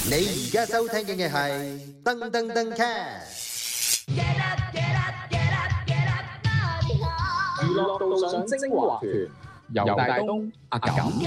你而家收聽嘅係噔噔噔 cast。 娛樂道上精華團，由大東、阿錦。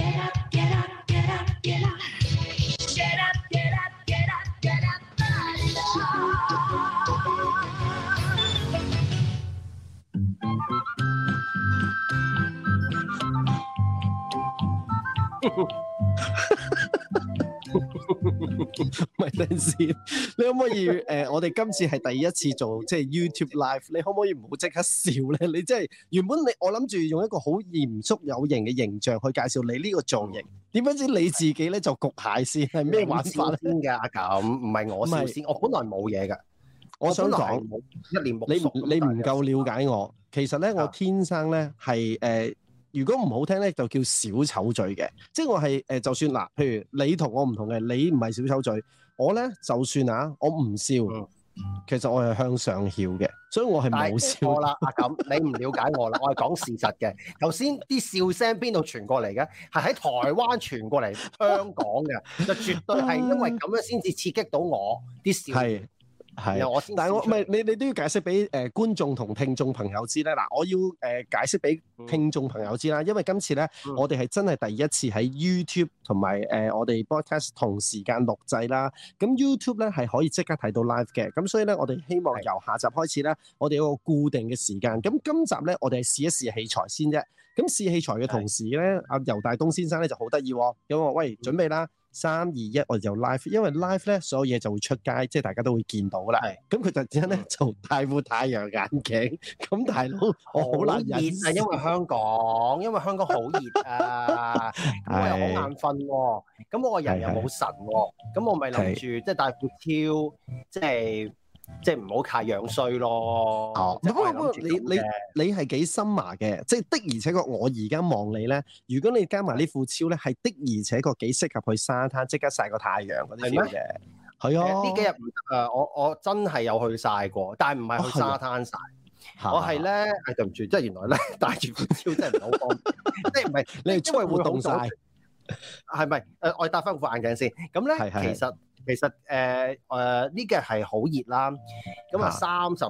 咪等陣先，你可唔可以我哋今次係第一次做即係 YouTube Live，你可唔可以唔好即刻笑咧？你真係原本我諗住用一個好嚴肅有型嘅形象去介紹你呢個造型，點不知你自己咧就焗蟹先，係咩玩法咧？ 先㗎咁，唔係我笑先，我本來冇嘢㗎。 我想講一臉木熟， 你唔夠了解我。其實咧，我天生咧係如果唔好聽咧，就叫小丑嘴嘅。即係我係就算嗱，譬如你同我唔同嘅，你唔係小丑嘴，我咧就算啊，我唔笑，其實我係向上翹嘅，所以我係冇笑。 錯啦，阿錦，你唔了解我啦，我係講事實嘅。頭先啲笑聲邊度傳過嚟嘅？係喺台灣傳過嚟香港嘅，就絕對係因為咁樣先至刺激到我啲笑。係， 但係我唔係你都要解釋俾觀眾同聽眾朋友知咧。嗱，我要解釋俾聽眾朋友知啦，因為今次咧我哋係真係第一次喺 YouTube 同埋我哋 Podcast 同時間錄製啦。咁 YouTube 咧係可以即刻睇到 live 嘅，咁所以咧我哋希望由下集開始咧，我哋有個固定嘅時間。咁今集咧我哋係試一試器材先啫。咁試器材嘅同時咧，阿游大東先生咧就好得意喎，咁我喂準備啦。3、2、1，我哋就 live， 因為 live 咧所有嘢就會出街，即係大家都會見到啦。咁佢突然之間咧就戴副太陽眼鏡，咁大佬我好難忍。 熱啊，因為香港好熱啊，咁我又好眼瞓喎，咁我個人又冇神喎，咁我咪諗住即係戴副超，即係唔好太樣衰咯。 不過你係幾深麻嘅，即係的而且確我而家望你咧，如果你加埋呢副超咧，係的而且確幾適合去沙灘即刻曬個太陽嗰啲 feel 嘅。係啊， 呢幾日唔得啊！我真係有去曬過，但係唔係去沙灘曬。我係咧，對唔住，即係原來咧戴住副超真係唔係好方便，即係唔係你係出去活動曬？ 係咪？我戴翻副眼鏡先。咁咧，其實呢幾日係好熱啦，咁啊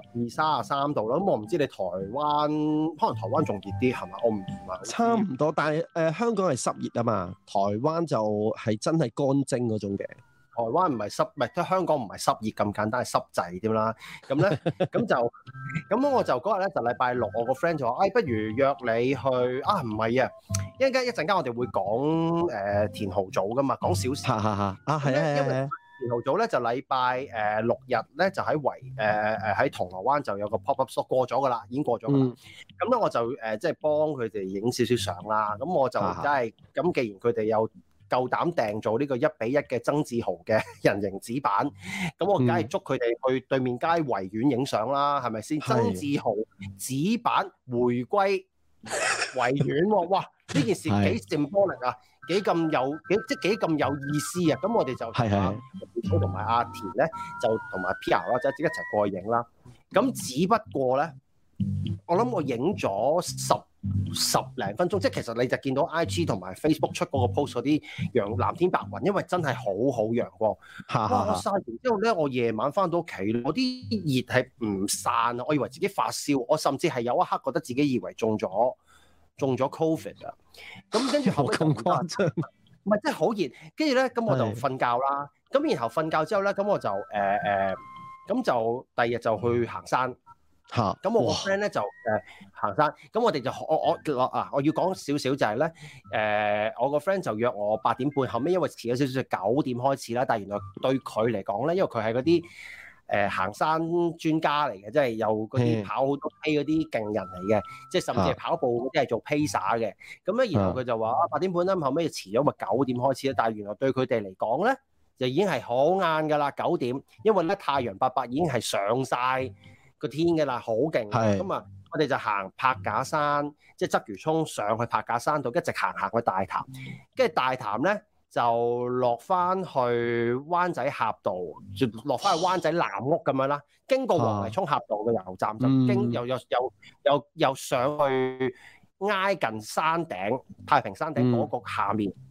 32、33度啦，咁我唔知你台灣，可能台灣仲熱啲係嘛？我唔係差唔多，但係香港係濕熱啊嘛，台灣就係真係乾蒸嗰種嘅。 台灣唔係濕，唔係即係香港唔係濕熱咁簡單，係濕滯添啦。咁咧，咁我就嗰日咧就禮拜六，我個 friend 就話，不如約你去啊？唔係啊，一陣間我哋會講田豪組噶嘛，講小事。因為田豪組咧就禮拜6日咧就喺喺銅鑼灣就有個 pop-up store 過咗噶啦，已經過咗噶啦。咁咧我就即係幫佢哋影少少相啦。咁我就真係咁，既然佢哋有夠膽訂做呢個1比1嘅曾志豪嘅人形紙板，咁我梗係捉佢哋去對面街維園影相啦，係咪先？曾志豪紙板回歸維園喎，哇！呢件事幾 symbolic 啊，幾咁有意思啊！咁我哋就同埋阿田咧，就同埋 Pia 啦，即係一齊過去影啦。咁只不過咧，我諗我影咗十零分鐘，即係其實你就見到 IG 同埋 Facebook 出嗰個 post 嗰啲藍天白雲，因為真係好陽光。哇！我曬完之後咧，我夜晚翻到屋企，我啲熱係唔散啊！我以為自己發燒，我甚至係有一刻覺得自己以為中咗 Covid 啊！咁跟住後尾咁誇張，唔係真係好熱。跟住咧，咁我就瞓覺啦。咁然後瞓覺之後咧，咁我就咁就第二日就去行山。咁我個 friend 咧就行山，咁我哋就我要講少少就係咧，我個 friend 就約我8點半，後尾因為遲咗少少，9點開始啦。但係原來對佢嚟講咧，因為佢係嗰啲行山專家嚟嘅，即係有嗰啲跑好多 K 嗰啲勁人嚟嘅，即係甚至係跑步嗰啲係做 pacer 嘅。咁咧，然後佢就話8點半啦，後尾遲咗咪9點開始啦。但係原來對佢哋嚟講咧，就已經係好晏㗎啦，9點，因為咧太陽伯伯已經係上晒個天嘅啦，好勁。咁啊，我哋就行柏架山，即係鰂魚涌上去柏架山度，一直行去大潭，跟住大潭咧就落翻去灣仔峽道，落翻去灣仔藍屋咁樣啦，經過黃泥涌峽道嘅油站，就又上去挨近山頂太平山頂嗰個下面，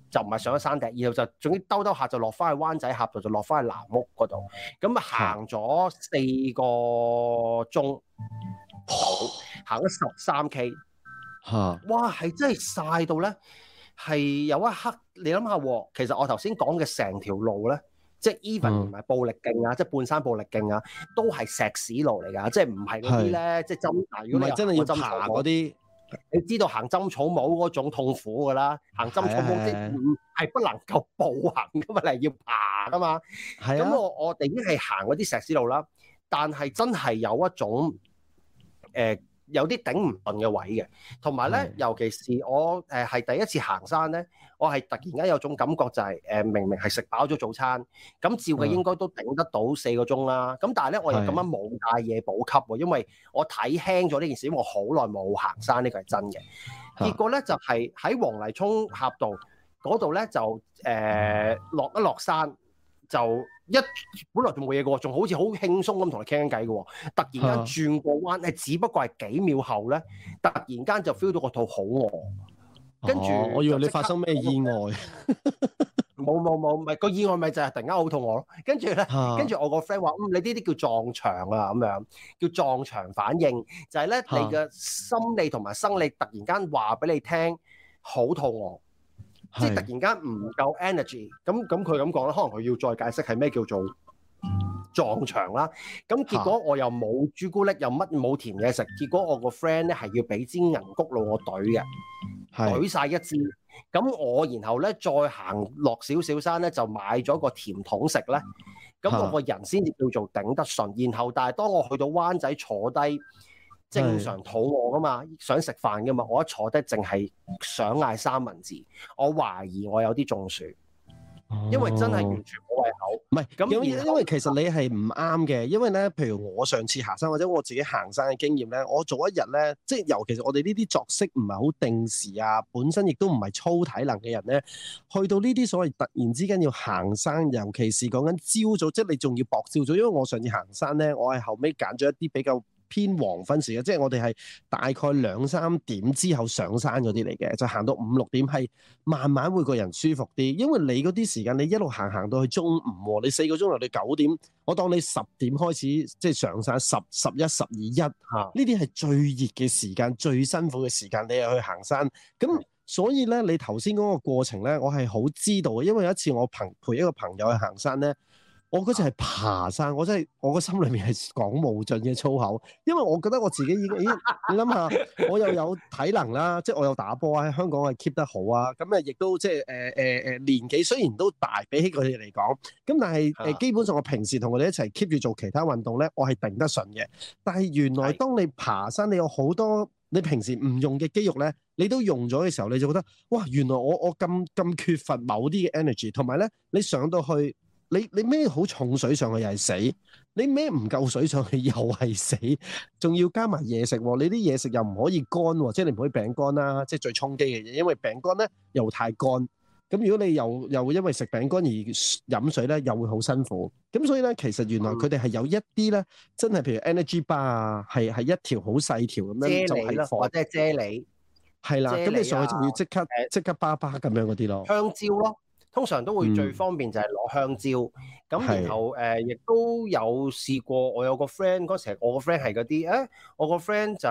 就唔係上咗山頂，然後就總之兜下就落翻去灣仔峽道，就落翻去藍屋嗰度。咁行咗4個鐘，行咗13K。哇！係真係曬到咧，係有一刻你諗下喎，其實我頭先講嘅成條路咧，即係 even 連埋布力徑啊，即係半山布力徑啊，都係石屎路嚟㗎，即係唔係嗰啲咧，即係針。如果你真係要爬嗰啲， 你知道行針草帽嗰種痛苦㗎啦，行針草帽即係不能夠步行㗎嘛，你係要爬㗎嘛。咁我哋已經係行嗰啲石屎路啦，但係真係有一種有啲頂唔順嘅位嘅，同埋咧，尤其是我係第一次行山咧，我係突然間有種感覺就係明明係食飽咗早餐，咁照嘅應該都頂得到4個鐘啦。咁但係咧，我又咁樣冇帶嘢補給喎，因為我睇輕咗呢件事，因為我好耐冇行山，呢個係真嘅。結果咧就係喺黃泥涌峽道嗰度咧就落一落山。就本來仲冇嘢嘅喎，仲好似好輕鬆咁同你傾偈嘅喎，突然間轉個彎，只不過係幾秒後咧，突然間就 feel 到個肚好餓，跟住我以為你發生咩意外， 冇，唔係個意外咪就係突然間好肚餓咯，跟住咧，跟住我個 friend 話，你呢啲叫撞牆啊，咁樣叫撞牆反應，就係咧你嘅心理同埋生理突然間話俾你聽好肚餓。即係突然間唔夠 energy，咁佢咁講啦，可能佢要再解釋係咩叫做撞牆啦。咁結果我又冇朱古力，又乜冇甜嘢食，結果我個 friend 咧係要俾支銀谷露我懟嘅，懟晒一支。咁我然後咧再行落少少山咧，就買咗個甜筒食咧。咁我個人先至叫做頂得順。然後但係當我去到灣仔坐低，正常肚餓噶嘛，想食飯噶嘛，我一坐低淨係想嗌三文治，我懷疑我有啲中暑，因為真係完全冇胃口。 唔係咁，因為其實你係唔啱嘅，因為咧，譬如我上次行山或者我自己行山嘅經驗咧，我做一日咧，即係尤其是我哋呢啲作息唔係好定時啊，本身亦都唔係操體能嘅人咧，去到呢啲所謂突然之間要行山，尤其是講緊朝早，即係你仲要搏朝早，因為我上次行山咧，我係後尾揀咗一啲比較偏黃昏時嘅，即係我哋係大概2-3點之後上山嗰啲嚟嘅，就行到5-6點係慢慢會個人舒服啲，因為你嗰啲時間你一路行到去中午喎，你4個鐘頭你9點，我當你10點開始即係上山10、11、12、1，呢啲係最熱嘅時間、最辛苦嘅時間，你又去行山，咁所以咧你頭先嗰個過程咧，我係好知道嘅，因為有一次我陪一個朋友去行山咧。我嗰次係爬山，我真係我個心裏面係講無盡嘅粗口，因為我覺得我自己已經，你諗下，我又有體能啦，即係我有打波喺香港係 keep 得好啊，咁亦都即係年紀雖然都大，比起佢哋嚟講，咁但係基本上我平時同佢哋一齊 keep 住做其他運動咧，我係頂得順嘅。但係原來當你爬山，你有好多你平時唔用嘅肌肉咧，你都用咗嘅時候，你就覺得哇，原來我咁缺乏某啲嘅 energy， 同埋咧你上到去。你孭好重水上去又係死，你孭唔夠水上去又係死，仲要加埋嘢食喎。你啲嘢食又唔可以乾喎，即係你唔可以餅乾啦，即係最衝擊嘅嘢。因為餅乾咧又太乾，咁如果你又因為食餅乾而飲水咧，又會好辛苦。咁所以咧，其實原來佢哋係有一啲咧，真係譬如 energy bar 啊，係一條好細條咁樣，就係或者係啫喱， 係啦。咁你上去就要即刻巴巴咁樣嗰啲咯， 香蕉咯。通常都會最方便就係攞香蕉，咁然後亦都有試過。我有個 friend 嗰時，我個 friend 係嗰啲我個 friend 就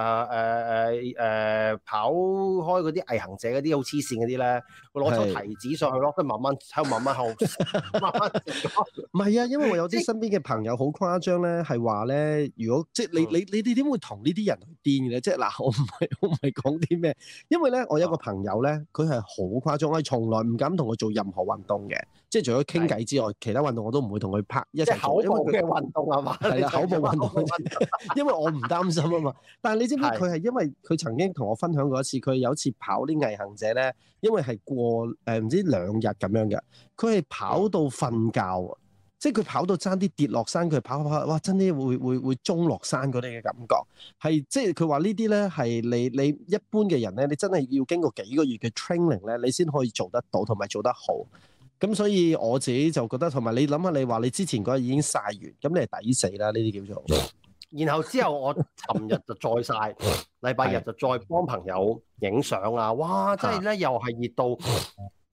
跑開嗰啲毅行者嗰啲好黐線嗰啲咧，會攞抽提子上去咯，跟住慢慢喺度慢慢唔係啊，因為我有啲身邊嘅朋友好誇張咧，係話咧，如果即係你哋點會同呢啲人去癲嘅咧？即係嗱，我唔係講啲咩，因為咧我有個朋友咧，佢係好誇張，我係從來唔敢同佢做任何運動嘅，即係除咗傾偈之外，其他運動我都唔會同佢拍一齊做。 口部嘅運動係嘛？ 係啦，口部運動，因為我唔擔心啊嘛。但係你知唔知佢係因為佢曾經同我分享過一次，佢有一次跑啲毅行者咧，因為係過唔知2日咁樣嘅，佢係跑到瞓覺，即係佢跑到爭啲跌落山，佢跑，哇！真係會中落山嗰啲嘅感覺，係即係佢話呢啲咧係你一般嘅人咧，你真係要經過幾個月嘅 training 咧，你先可以做得到同埋做得好。咁所以我自己就覺得，同埋你諗下，你話你之前嗰日已經曬完，咁你係抵死啦，呢啲叫做。 然後之後我尋日就再曬，禮拜日就再幫朋友影相啊！哇，真係咧又係熱到，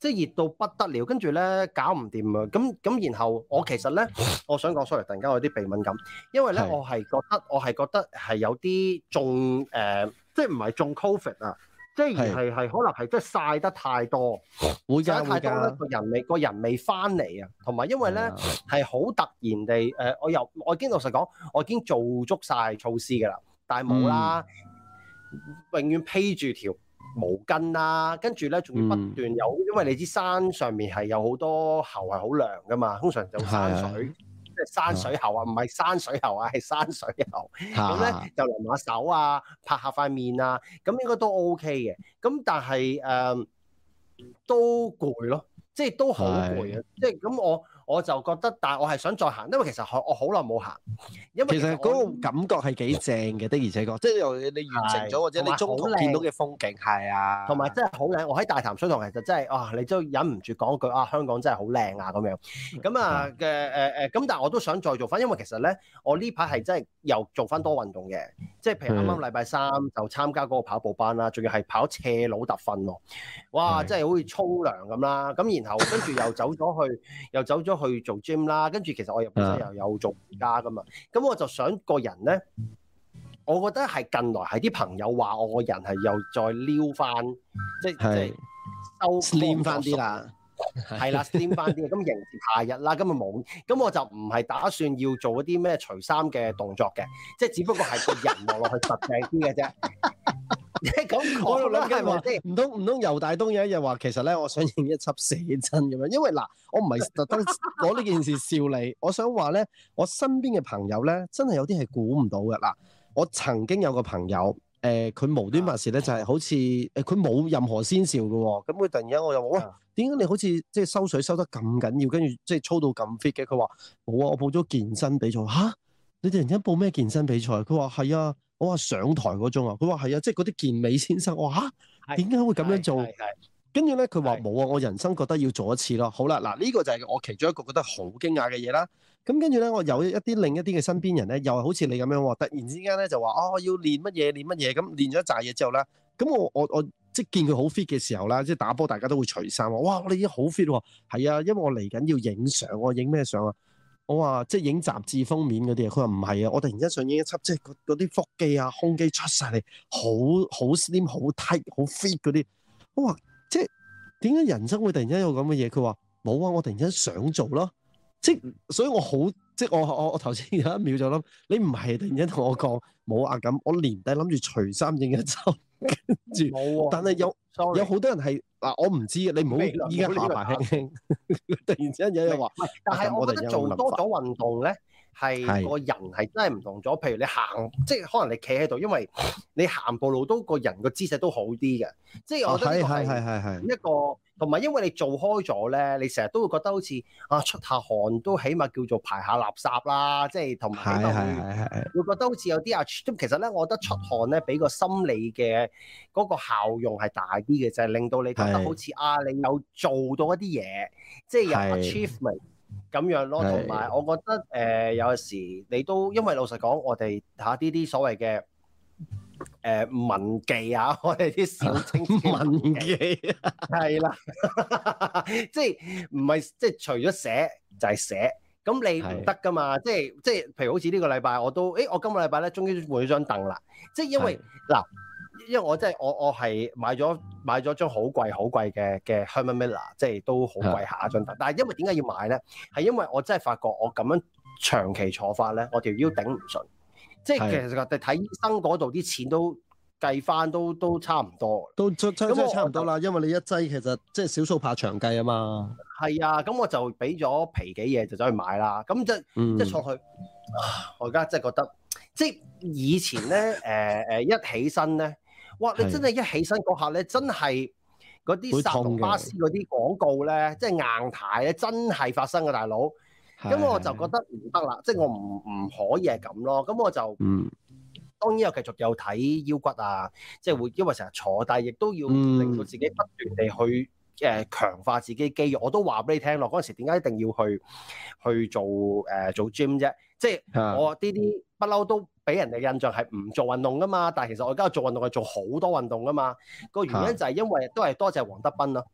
即係熱到不得了，跟住咧搞唔掂啊！咁然後我其實咧，我想講 sorry，突然間我有啲鼻敏感，因為咧我係覺得係有啲中即係唔係中 Covid 啊，即係係可能係即係曬得太多，曬得太多咧個人未翻嚟啊，同埋因為咧係好突然地我已經老實講，我已經做足晒措施㗎啦，但係冇啦，永遠披住條毛巾啦，跟住咧仲要不斷有，因為你知山上面係有好多喉係好涼噶嘛，通常就山水，即係山水喉啊，唔係山水喉啊，係山水喉。咁咧就淋下手啊，拍下塊面啊，咁應該都 OK 嘅。咁但係都攰咯，即係都好攰啊！即係咁我就覺得，但係我係想再行，因為其實我好耐冇行，因為其實嗰個感覺係幾正嘅，的而且確，即係你完成咗或者你中途見到嘅風景係啊， 同埋真係好靚。我喺大潭水塘其實真係你都忍唔住講句香港真係好靚啊咁樣。咁啊咁但係我都想再做翻，因為其實咧我呢排係真係又做翻多運動嘅，即係譬如啱啱禮拜三就參加嗰個跑步班啦，仲要係跑斜路特訓喎，哇！真係好似沖涼咁啦，咁然後跟住又走咗去做 gym 啦，跟住其實我本身又有做瑜伽噶嘛，咁我就想個人咧，我覺得係近來係啲朋友話我個人係又再撩翻，即係收 slim 翻啲啦，係啦 slim 翻啲，咁迎接夏日啦，咁啊冇，咁我就唔係打算要做嗰啲咩除衫嘅動作嘅，即係只不過係個人望落去實淨啲嘅啫。咁我諗緊話，唔通游大東有一日話，其實咧我想影一輯寫真咁樣，因為嗱，我唔係特登攞呢件事笑你，我想話咧，我身邊嘅朋友咧，真係有啲係估唔到嘅嗱。我曾經有個朋友，佢無端白事咧，就係好似佢冇任何先兆嘅喎，咁佢突然間我又話，喂，點解你好似即係收水收得咁緊要，跟住即係操到咁 fit 嘅？佢話冇啊，我報咗健身比賽嚇，你突然間報咩健身比賽？佢話係啊。我話上台嗰種啊，佢話係啊，即係嗰啲健美先生。我話嚇，點解會咁樣做？跟住咧，佢話冇啊，我人生覺得要做一次咯。好啦，嗱呢個就係我其中一個覺得好驚訝嘅嘢啦。咁跟住咧，我有另一啲嘅身邊人咧，又係好似你咁樣喎，突然之間咧就話我要練乜嘢，咁練咗一紮嘢之後咧，咁我即係見佢好 fit 嘅時候啦，即係打波大家都會除衫喎。哇，你已經好 fit 喎，係啊，因為我嚟緊要影相，我影咩相啊？我話即係影雜誌封面嗰啲啊，佢話唔係啊，我突然間想影一輯即係嗰啲腹肌啊、胸肌出晒嚟，好 slim、好 tight、好 fit 嗰啲。我話即係點解人生會突然間有咁嘅嘢？佢話冇啊，我突然間想做咯。即係所以我好即係我頭先有一秒就諗，你唔係突然間同我講冇啊咁，我年底諗住除衫影一輯，跟住冇啊，但係有好多人係。嗱，我唔知你唔好依家下巴輕輕，突然之間有人話， 但係我覺得做多咗運動咧，係個人係真係唔同咗。譬如你行，即係可能你企喺度，因為你行步路都個人個姿勢都好啲嘅。即係我覺得呢個係一個，同埋因為你做開咗咧，你成日都會覺得好似出下汗都起碼叫做排下垃圾啦。即係同埋會覺得好似有啲其實咧，我覺得出汗咧，俾個心理嘅嗰個效用係大啲嘅，就係令到你覺得好似你有做到一啲嘢，即係有 achievement 咁樣咯。同埋我覺得有時你都因為老實講，我哋呢啲所謂嘅文技啊，我哋啲小清文技係啦，即係唔係即係除咗寫就係寫，咁你唔得噶嘛？即係譬如好似呢個禮拜我都我今個禮拜咧終於換咗張凳啦，即係因為嗱。因為我真係我係買咗張好貴嘅 Herman Miller， 即係都好貴下一張凳。但係因為點解要買咧？係因為我真係發覺我咁樣長期坐法咧，我條腰頂唔順。即係其實我哋睇醫生嗰度啲錢都計翻都差唔多，都真係差唔多啦。因為你一劑其實即係少數怕長計啊嘛。係啊，咁我就俾咗皮幾嘢就走去買啦。咁即係坐去，我而家真係覺得，即係以前咧一起身咧。哇！你真係一起身嗰下咧，真係嗰啲薩隆巴斯嗰啲廣告咧，即係硬牌咧，真係發生嘅大佬。咁我就覺得唔得啦，即係我唔可以係咁咯。咁我就當然又繼續有睇腰骨啊，即係會因為成日坐，但係亦都要令到自己不斷地去強化自己肌肉。我都話俾你聽咯，嗰陣時點解一定要去做 gym 啫？即係我呢啲不嬲都俾人哋印象係唔做運動噶嘛，但係其實我而家做運動係做好多運動噶嘛。個原因就係因為都係多謝黃德斌咯，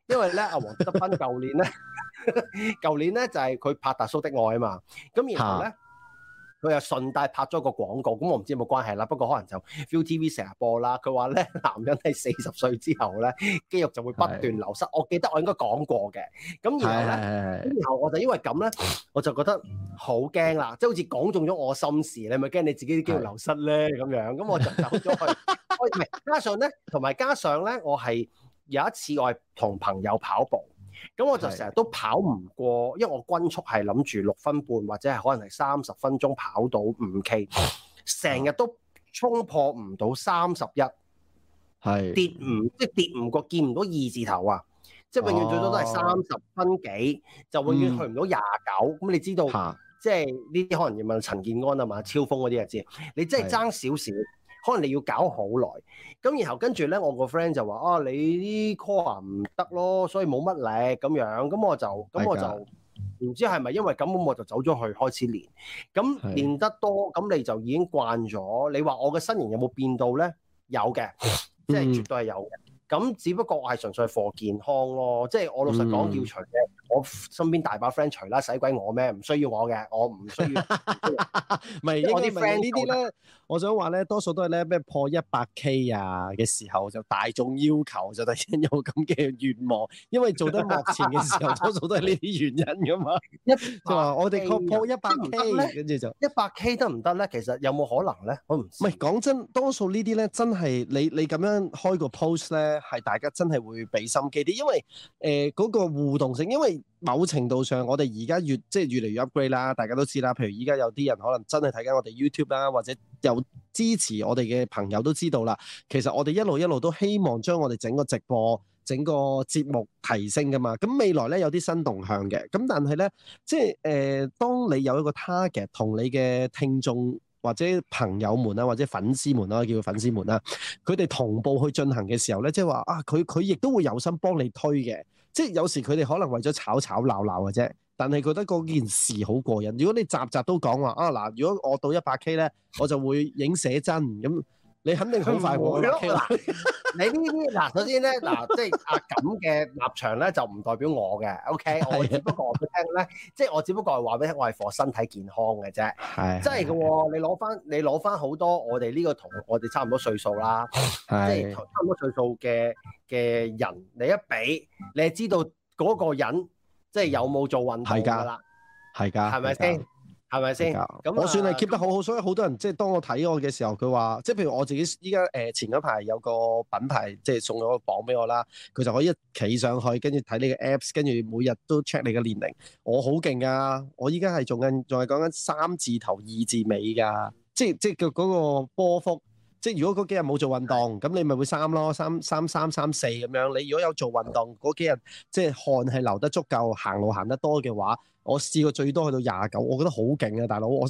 因為咧阿黃德斌舊年咧就係佢拍《達叔的愛》啊嘛，咁然後咧。佢又順帶拍咗個廣告，咁我唔知有冇關係啦。不過可能就 ViuTV 成日播啦。佢話咧，男人喺40歲之後咧，肌肉就會不斷流失。我記得我應該講過嘅。咁然後咧，然後我就因為咁咧，我就覺得好驚啦，即係好似講中咗我心事，你咪驚你自己啲肌肉流失咧咁樣。咁我就走咗去。唔係，加上咧，我係有一次我係同朋友跑步。咁我就成日都跑唔過，因為我均速係諗住6分半或者係可能係30分鐘跑到5K， 成日都衝破唔到31，係跌唔過，見唔到2字頭啊！即係永遠最多都係30分幾，就永遠去唔到29。咁你知道，即係呢啲可能要問陳健安啊嘛，超風嗰啲就知，你真係爭少少。可能你要搞好耐，咁然後跟住咧，我個 friend 就話啊，你啲 core 唔得咯，所以冇乜力咁樣，咁我就唔知係咪因為咁，我就走咗去開始練，咁練得多，咁你就已經慣咗。你話我嘅身形有冇變到咧？有嘅，即係絕對係有嘅。咁只不過我係純粹係for健康咯，即係我老實講要除嘅，我身邊大把 friend 除啦，使鬼我咩？唔需要我嘅，我唔需要。 唔係我啲 friend 呢啲咧，我想話咧，多數都係咧咩破100K 啊嘅時候就大眾要求就突然間有咁嘅願望，因為做得幕前嘅時候多數都係呢啲原因噶嘛。就話我哋破100K，跟住就 100K 得唔得咧？其實有冇可能咧？我唔知。 唔係講真，多數呢啲咧真係你咁樣開個 post 咧。係大家真係會俾心機啲，因為嗰個互動性，因為某程度上我哋而家越嚟越 upgrade 啦，大家都知啦。譬如依家有啲人可能真係睇緊我哋 YouTube 啦，或者有支持我哋嘅朋友都知道啦。其實我哋一路都希望將我哋整個直播、整個節目提升噶嘛。咁未來咧有啲新動向嘅，咁但係咧即係當你有一個 target 同你嘅聽眾，或者朋友們啦，或者粉絲們啦，叫佢粉絲們啦，佢哋同步去進行嘅時候咧，即係話啊，佢亦都會有心幫你推嘅。即係有時佢哋可能為咗吵鬧嘅啫，但係覺得嗰件事好過癮。如果你集都講話啊嗱，如果我到100K 咧，我就會影寫真咁。你肯定好快過啦。 你呢啲嗱，首先咧嗱，即係阿錦嘅立場咧，就唔代表我嘅。OK， 我只不過我聽咧，即係我只不過係話俾你聽，我係 for 身體健康嘅啫。係，真係嘅喎。你攞翻好多我哋呢個同我哋差唔多歲數啦，即係差唔多歲數嘅人，你一比，你係知道嗰個人即係有冇做運動㗎啦。係㗎，係咪先？係咪先？咁我算係 keep 得好好，所以好多人即係當我睇我嘅時候，佢話即係譬如我自己依家前嗰排有個品牌即係送咗個磅俾我啦，佢就可以一企上去，跟住睇你嘅 apps， 跟住每日都 check 你嘅年齡。我好勁㗎，我依家係仲係講緊3字頭2字尾㗎，即係嗰個波幅。即係如果嗰幾日冇做運動，咁你咪會3咯，3、3、3、3、4咁樣。你如果有做運動嗰幾日，即係汗係流得足夠，行路行得多嘅話，我試過最多去到29，我覺得好勁啊，大佬！我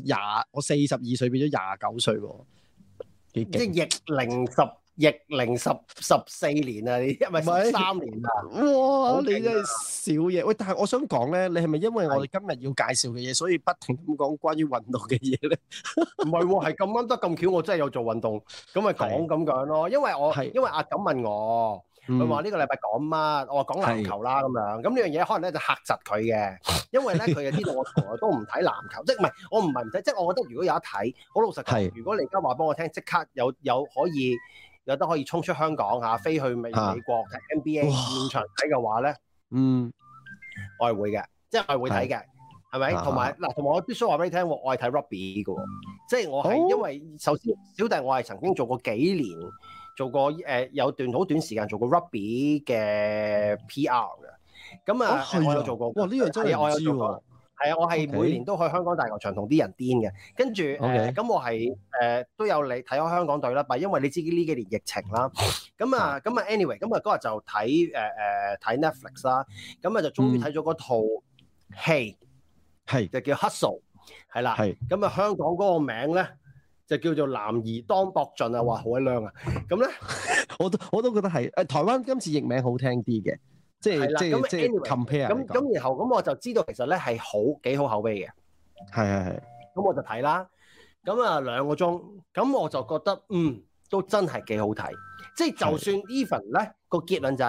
42歲變咗29歲喎，幾勁！ 即係逆齡14年啊，你係咪13年啊？ 哇！你真係少嘢。喂，但係我想講咧，你係咪因為我哋今日要介紹嘅嘢，所以不停咁講關於運動嘅嘢咧？ 唔係喎，係咁啱得咁巧，我真係有做運動，咁咪講咁樣咯。因為阿錦問我，佢話呢個禮拜講乜？我話講籃球啦咁樣。咁呢樣嘢可能咧就嚇窒佢嘅，因為咧佢就知道我從來都唔睇籃球，即係唔係我唔係唔睇，即係我覺得如果有得睇，好老實講，如果你而家話俾我聽，即刻有得可以衝出香港嚇，飛去美國睇 NBA 現場睇嘅話咧，我係會嘅，即係我係會睇嘅，係咪？同埋我必須話俾你聽，我係睇 rugby 嘅喎，即係我係因為首先小弟我係曾經做過幾年，做過有段好短時間做過 rugby 嘅 PR 嘅，咁啊我有做過，哇呢樣真係我有做過。係啊，我係每年都去香港大球場同啲人癲嘅，跟住咁我係都有嚟睇開香港隊啦，但係因為你知呢幾年疫情啦，咁啊 anyway， 咁啊嗰日就睇 Netflix 啦，咁啊就終於睇咗嗰套戲，就叫 Hustle， 係啦，咁啊香港嗰個名咧就叫做男兒當搏盡啊，話好鬼靚啊，咁咧我都覺得係台灣今次譯名好聽啲嘅。即係 compare 咁然後咁我就知道其實咧係幾好口碑嘅，係，咁我就睇啦，咁啊2個鐘，咁我就覺得都真係幾好睇，即係就算 even 咧個結論就係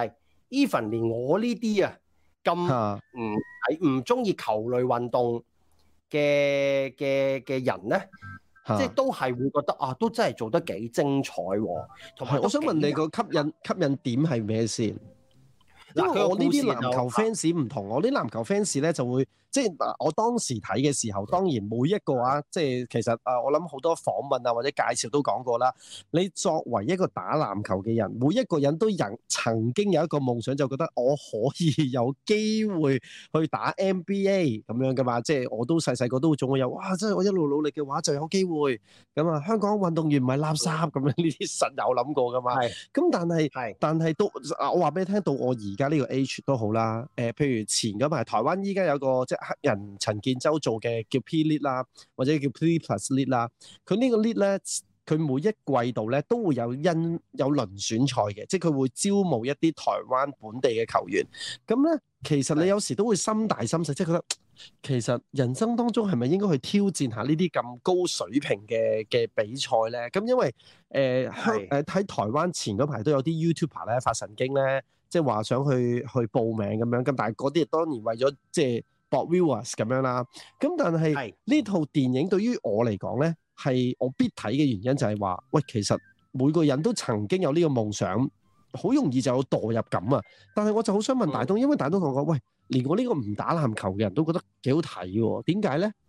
even 連我呢啲啊咁唔中意球類運動嘅人咧，即係都係會覺得啊，都真係做得幾精彩喎。同埋， 我想問你個吸引點係咩先？因為我呢啲籃球 fans 唔同，我啲籃球 fans 咧就會即係我當時睇嘅時候，當然每一個即係其實我諗好多訪問啊或者介紹都講過啦。你作為一個打籃球嘅人，每一個人都曾經有一個夢想，就覺得我可以有機會去打 NBA 咁樣噶嘛。即係我都細個都總會有哇！真係我一路努力嘅話就有機會咁啊。香港運動員唔係垃圾咁樣，呢啲實有諗過噶嘛。咁但係都我話俾你聽，到我而家呢個 age 都好啦。譬如前嗰排台灣依家有個即係黑人陳建州做嘅叫 P League 啦，或者叫 P Plus League 啦。佢呢個 League 咧，佢每一季度咧都會有輪選賽嘅，即係佢會招募一啲台灣本地嘅球員。咁咧，其實你有時都會心大心細，即係覺得其實人生當中係咪應該去挑戰下呢啲咁高水平嘅比賽咧？咁因為喺台灣前嗰排都有啲 YouTuber 咧發神經咧。即係話想去報名咁樣，咁但係嗰啲當然為咗即係博 viewers 咁樣啦。咁但係呢套電影對於我嚟講咧，係我必睇嘅原因就係話，喂，其實每個人都曾經有呢個夢想，好容易就有墮入感啊。但係我就好想問大東，因為大東同我講，喂，連我呢個唔打籃球嘅人都覺得幾好睇喎，點解咧？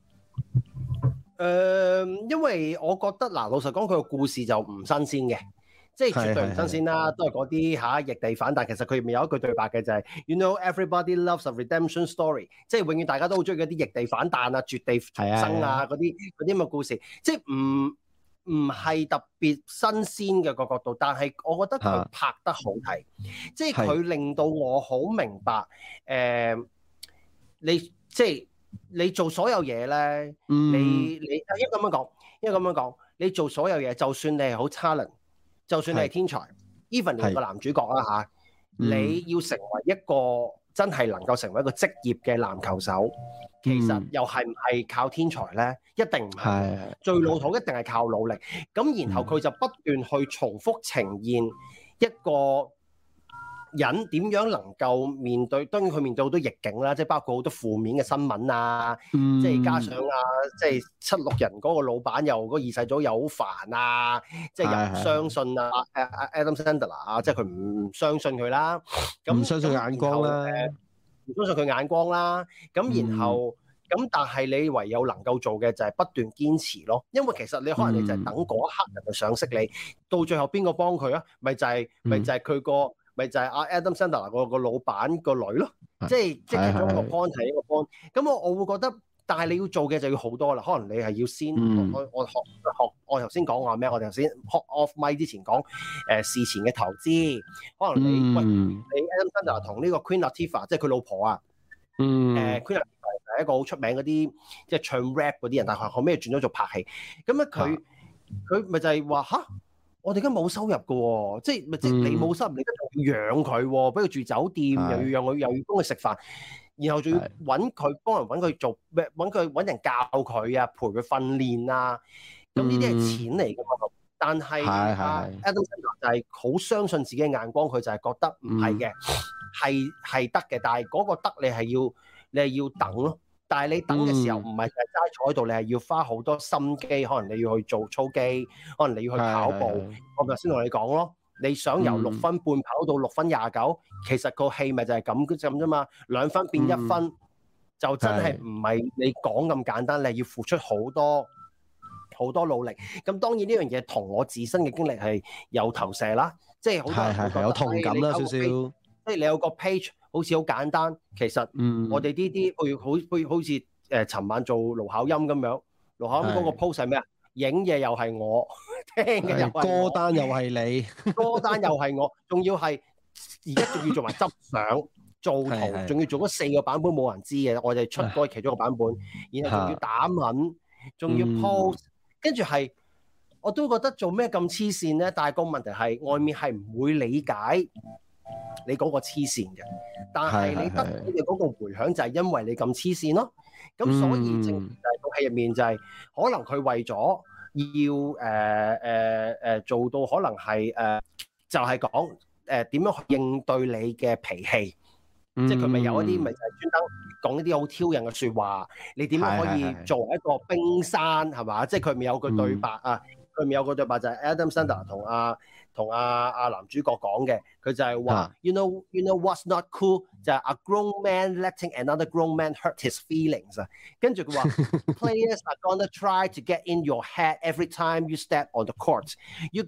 因為我覺得嗱，老實講，佢個故事就唔新鮮嘅。即係絕對唔新鮮啦，都係嗰啲逆地反彈。但其實佢入面有一句對白嘅就係 You know everybody loves a redemption story， 即係永遠大家都好中意嗰啲逆地反彈啊、絕地重生啊嗰啲咁嘅故事。即係唔係特別新鮮嘅個角度，但係我覺得佢拍得好睇，即係佢令到我好明白你做所有嘢咧，你應該咁樣講，你做所有嘢，就算你係好 talent。就算你係天才 ，even 連個男主角啦你要成為一個真係能夠成為一個職業嘅籃球手，其實又係唔係靠天才咧？一定唔係，最老土一定係靠努力。咁然後佢就不斷去重複呈現一個人點樣能夠面對，當然佢面對好多逆境啦，即係包括好多負面嘅新聞啊，即係加上即係76人嗰個老闆又嗰二世祖又好煩啊，即係又唔相信啊Adam Sandler 啊，即係佢唔相信佢啦，咁唔相信眼光啦，唔相信佢眼光啦，咁然後咁但係你唯有能夠做嘅就係不斷堅持咯，因為其實你可能你就係等嗰一刻人去賞識你，到最後邊個幫佢啊？咪就係佢個。咪就係阿 Adam Sandler 個老闆個女咯，即係其中一個 point 係一個 point。咁我會覺得，但係你要做嘅就要好多啦。可能你係要先，我頭先講話咩？我哋頭先 off mic 之前講事前嘅投資，可能你Adam Sandler 同呢個 Queen Latifah 即係佢老婆啊，Queen Latifah 係一個好出名嗰啲即係唱 rap 嗰啲人，但係後尾轉咗做拍戲。咁咧佢咪就係話嚇。我哋而家冇收入嘅喎，即係你冇收入，你仲要養佢喎，俾佢住酒店，又要養佢，又要幫佢食飯，然後仲要揾佢幫人揾佢做咩？揾人教佢啊，陪佢訓練啊，咁呢啲係錢嚟㗎嘛。但係Adam Sandler就係好相信自己嘅眼光，佢就係覺得唔係嘅，係得嘅，但係嗰個得你係要等咯。但係你等嘅時候唔係就係齋坐喺度，你係要花好多心機，可能你要去做操肌，可能你要去跑步。我頭先同你講咯，你想由6分半跑到6分29，其實個戲咪就係咁啫嘛。2分變1分，就真係唔係你講咁簡單，你係要付出好多努力。咁當然呢樣嘢同我自身嘅經歷係有投射啦，即係好多人係有同感啦少少。即係你有個 page。好似好簡單，其實我哋呢啲好似尋晚做盧巧音咁樣，盧巧音嗰個 post 係咩啊？影嘢又係我，聽嘅又係我，歌單又係你，歌單又係我，仲要係而家仲要做埋執相、做圖，仲要做嗰4個版本冇人知嘅，我哋出嗰其中一個版本，然後仲要打文，仲要 post，跟住係我都覺得做咩咁黐線咧？但係個問題係外面係唔會理解你嗰個黐線嘅，但係你得到嘅嗰個迴響就係因為你咁黐線咯。咁所以正就係套戲入面就係可能佢為咗要做到可能係就係講點樣去應對你嘅脾氣。即係佢咪有一啲咪就係專登講一啲好挑釁嘅説話，你點樣可以作為一個冰山係嘛？即係佢咪有句對白啊？佢咪有個對白就係 Adam Sandler 同阿男主角講嘅，佢就係話，you know what's not cool 就係 a grown man letting another grown man hurt his feelings 啊。跟住佢話，players are gonna try to get in your head every time you step on the court. You're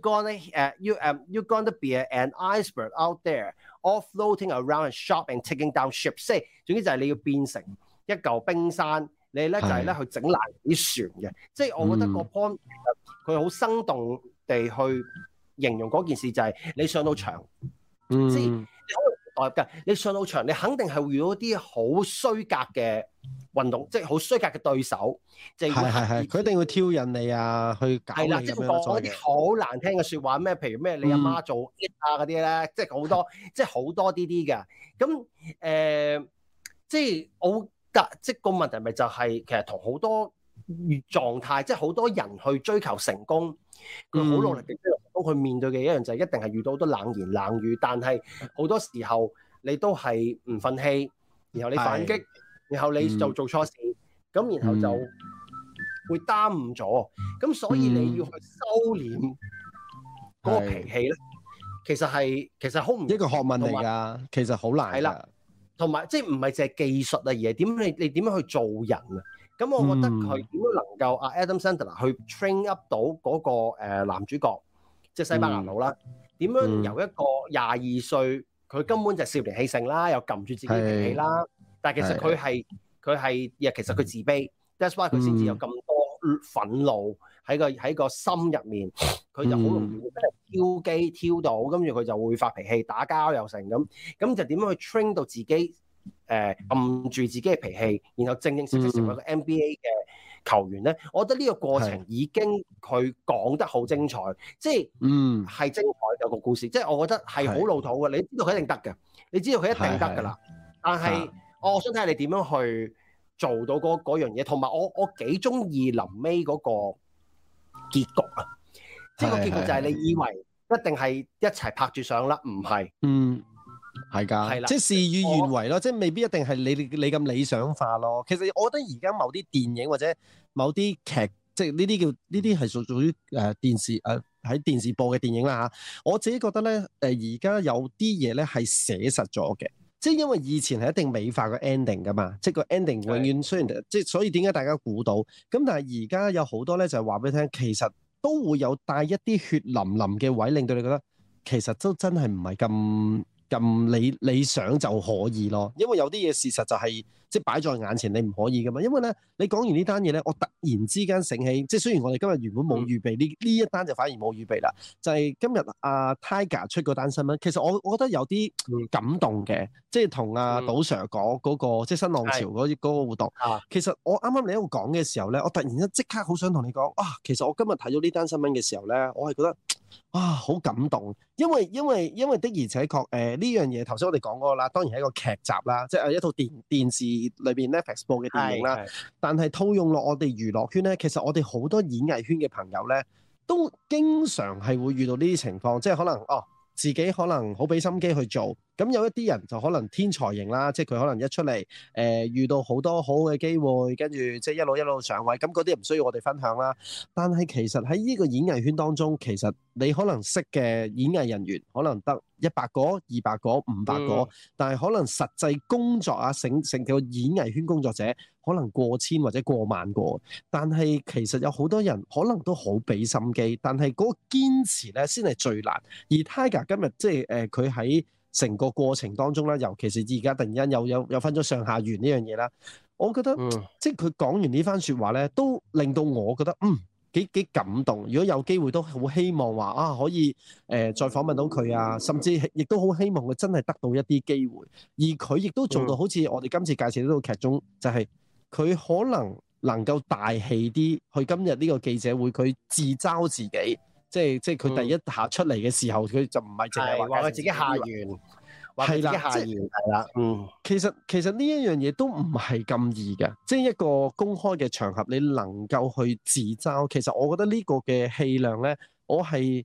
gonna be an iceberg out there, all floating around and sharp and taking down ships。即係總之就係你要變成一嚿冰山，你咧就係咧去整爛啲船嘅。即係我覺得個 point 佢好生動地去形容嗰件事，就係你上到場，即係你可能代入㗎。你上到場，你肯定係會遇到啲好衰格嘅運動，即係好衰格嘅對手，就係佢一定會挑釁你啊，去搞你咁樣。係啦，即係講一啲好難聽嘅説話，咩譬如咩你阿媽做 it 啊嗰啲咧，即係好多，即係好多啲嘅。咁即係我即係個問題咪就係其實同好多狀態，即係好多人去追求成功，佢好努力嘅追求成功，佢面對嘅一樣就係一定係遇到好多冷言冷語，但係好多時候你都係唔憤氣，然後你反擊，然後你就做錯事，咁然後就會耽誤咗，咁所以你要去收斂嗰個脾氣咧，其實好唔一個學問嚟㗎，其實好難。係啦， 同埋即係唔係淨係技術啊，而係你點樣去做人啊？咁我覺得佢點樣能夠阿 Adam Sandler 去 train up 到嗰個男主角，即係西班牙佬啦，點樣由一個22歲，佢根本就少年氣盛啦，又撳住自己脾氣啦，但係其實佢係其實佢自卑 ，that's why 佢先至有咁多憤怒喺個心入面，佢就好容易會俾人挑機挑到，跟住佢就會發脾氣、打交又成咁就點樣去 train 到自己？按住自己嘅脾氣，然後正式成為一個 NBA 嘅球員咧，我覺得呢個過程已經佢講得好精彩，即係係精彩嘅個故事，即係我覺得係好老土嘅，你知道佢一定得嘅，你知道佢一定得㗎啦，但係我想睇下你點樣去做到嗰樣嘢，同埋我幾中意臨尾嗰個結局啊，即係個結局就係你以為一定係一齊拍住上啦，唔係， 係㗎，即係事與願違咯，即係未必一定係你咁理想化咯。其實我覺得而家某啲電影或者某啲劇，即係呢啲係屬於電視喺電視播嘅電影啦嚇。我自己覺得咧，而家有啲嘢咧係寫實咗嘅，即係因為以前係一定美化個 ending 㗎嘛，即係個 ending 永遠雖然即係所以點解大家估到咁，但係而家有好多咧就係話俾你聽，其實都會有帶一啲血淋淋嘅位，令到你覺得其實都真係唔係咁理想就可以咯，因為有啲嘢事實就係即係擺在眼前，你唔可以噶嘛。因為咧，你講完呢單嘢咧，我突然之間醒起，即係雖然我哋今日原本冇預備呢一單，就反而冇預備啦。就係今日阿 Tiger 出嗰單新聞，其實我覺得有啲感動嘅，即係同阿賭 Sir 講嗰個即係新浪潮嗰個活動。其實我啱啱你喺度講嘅時候咧，我突然間即刻好想同你講啊，其實我今日睇到呢單新聞嘅時候咧，我係覺得好感動，因為的而且確呢樣嘢頭先我哋講過啦，當然係一個劇集啦，即係一套電視裏邊 Netflix 播嘅電影啦。但係套用落我哋娛樂圈咧，其實我哋好多演藝圈嘅朋友咧，都經常係會遇到呢啲情況，即係可能自己可能好俾心機去做，咁有一啲人就可能天才型啦，即係佢可能一出嚟遇到好多好嘅機會，跟住即係一路上位，咁嗰啲唔需要我哋分享啦。但係其實喺呢個演藝圈當中，其實你可能識嘅演藝人員可能得100個、200個、500個，但係可能實際工作成個演藝圈工作者可能過千或者過萬個，但係其實有好多人可能都好俾心機，但係嗰個堅持咧先係最難。而 Tiger 今日即係佢喺成個過程當中啦，尤其是而家突然間有分咗上下緣呢樣嘢啦，我覺得即係佢講完呢番説話咧，都令到我覺得幾感動。如果有機會都好希望話可以再訪問到佢啊，甚至亦都好希望佢真係得到一啲機會。而佢亦都做到好似我哋今次介紹呢套劇中，就係佢可能夠大氣啲去今日呢個記者會，佢自嘲自己。即係佢第一下出嚟嘅時候，佢就唔係淨係話佢自己下完，話佢自己下完係啦。其實呢一樣嘢都唔係咁易嘅，即係一個公開嘅場合，你能夠去自嘲，其實我覺得呢個嘅氣量咧，我係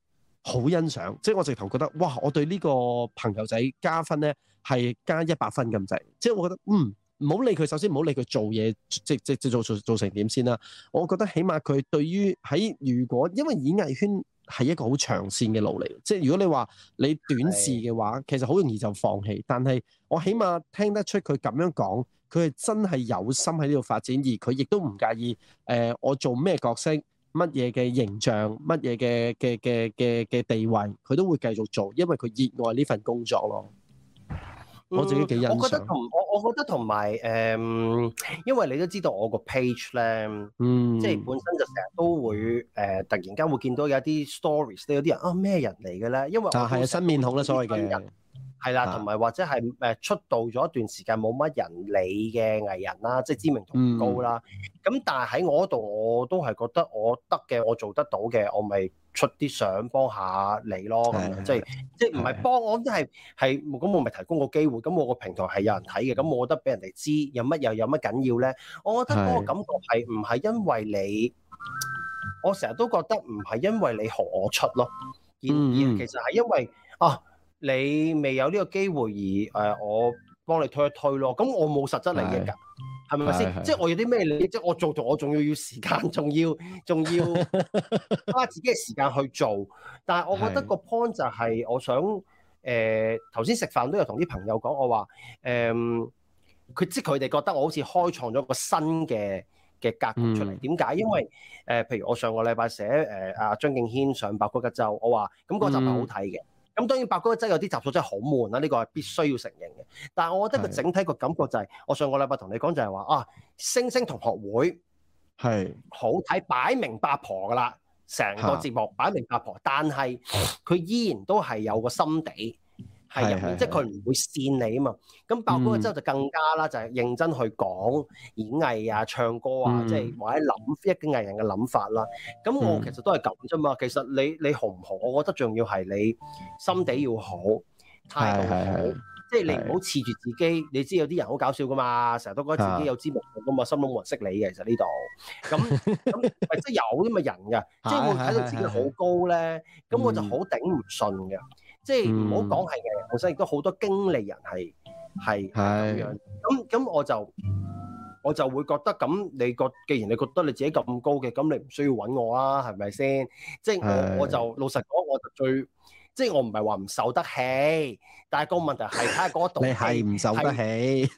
好欣賞，即係我直頭覺得哇！我對呢個朋友仔加分咧係加100分咁滯，即係我覺得唔好理佢，首先唔好理佢做嘢即做成點先啦。我覺得起碼佢對於如果因為演藝圈係一個好長線嘅路嚟，即係如果你話你短視嘅話，其實好容易就放棄。但係我起碼聽得出佢咁樣講，佢係真係有心喺呢度發展，而佢亦都唔介意我做咩角色、乜嘢嘅形象、乜嘢嘅地位，佢都會繼續做，因為佢熱愛呢份工作咯。我自己幾欣賞。我覺得同埋因為你都知道我個 page 咧，即係本身就成日都會突然間會見到有啲 stories 咧，有啲人咩人嚟嘅咧？因為我係新面孔啦，所謂嘅係啦，同埋或者係出道咗一段時間冇乜人理嘅藝人啦，即係知名度唔高啦。咁但係喺我嗰度，我都係覺得我得嘅，我做得到嘅，我咪出啲相幫下你咯。咁樣即係唔係幫我，即係咁我咪提供個機會。咁我個平台係有人睇嘅，咁我覺得俾人哋知有乜緊要咧？我覺得嗰個感覺係唔係因為你，我成日都覺得唔係因為你何我出咯，而其實係因為你未有呢個機會而我幫你推一推咯。咁我冇實質利益㗎。係咪先？即係我有啲咩利益？即係我做我仲要時間，仲要花自己嘅時間去做。但係我覺得個 point 就係我想頭先食飯都有同啲朋友講，我話佢哋覺得我好似開創咗個新嘅格局出嚟。點解？因為譬如我上個禮拜寫阿張敬軒上百谷一周，我話咁嗰集係好睇嘅。咁當然百谷一周有啲集數真係好悶啦，呢個係必須要承認嘅。但係我覺得個整體個感覺就係，我上個禮拜同你講就係話星星同學會係好睇，擺明八婆噶啦，成個節目擺明八婆，但係佢依然都係有個心地係入面，即係佢唔會跣你啊嘛。咁百谷一周就更加啦，就係認真去講演藝啊、唱歌啊，即係或者諗一個藝人嘅諗法啦。咁我其實都係咁啫嘛。其實你紅唔紅，我覺得仲要係你心地要好，態度好，即係你唔好恃住自己。你知有啲人好搞笑噶嘛，成日都覺得自己有知名度噶嘛，心諗冇人識你嘅。其實呢度咁即係有啲咁嘅人㗎，即係會睇到自己好高咧，咁我就好頂唔順嘅。即係唔好講係嘅，本身亦都好多經理人係咁樣。咁我就會覺得咁，既然你覺得你自己咁高嘅，咁你唔需要揾我啦，係咪先？即係我就老實講，我就即係我唔係話唔受得氣，但係個問題係睇下嗰度你係唔受得起。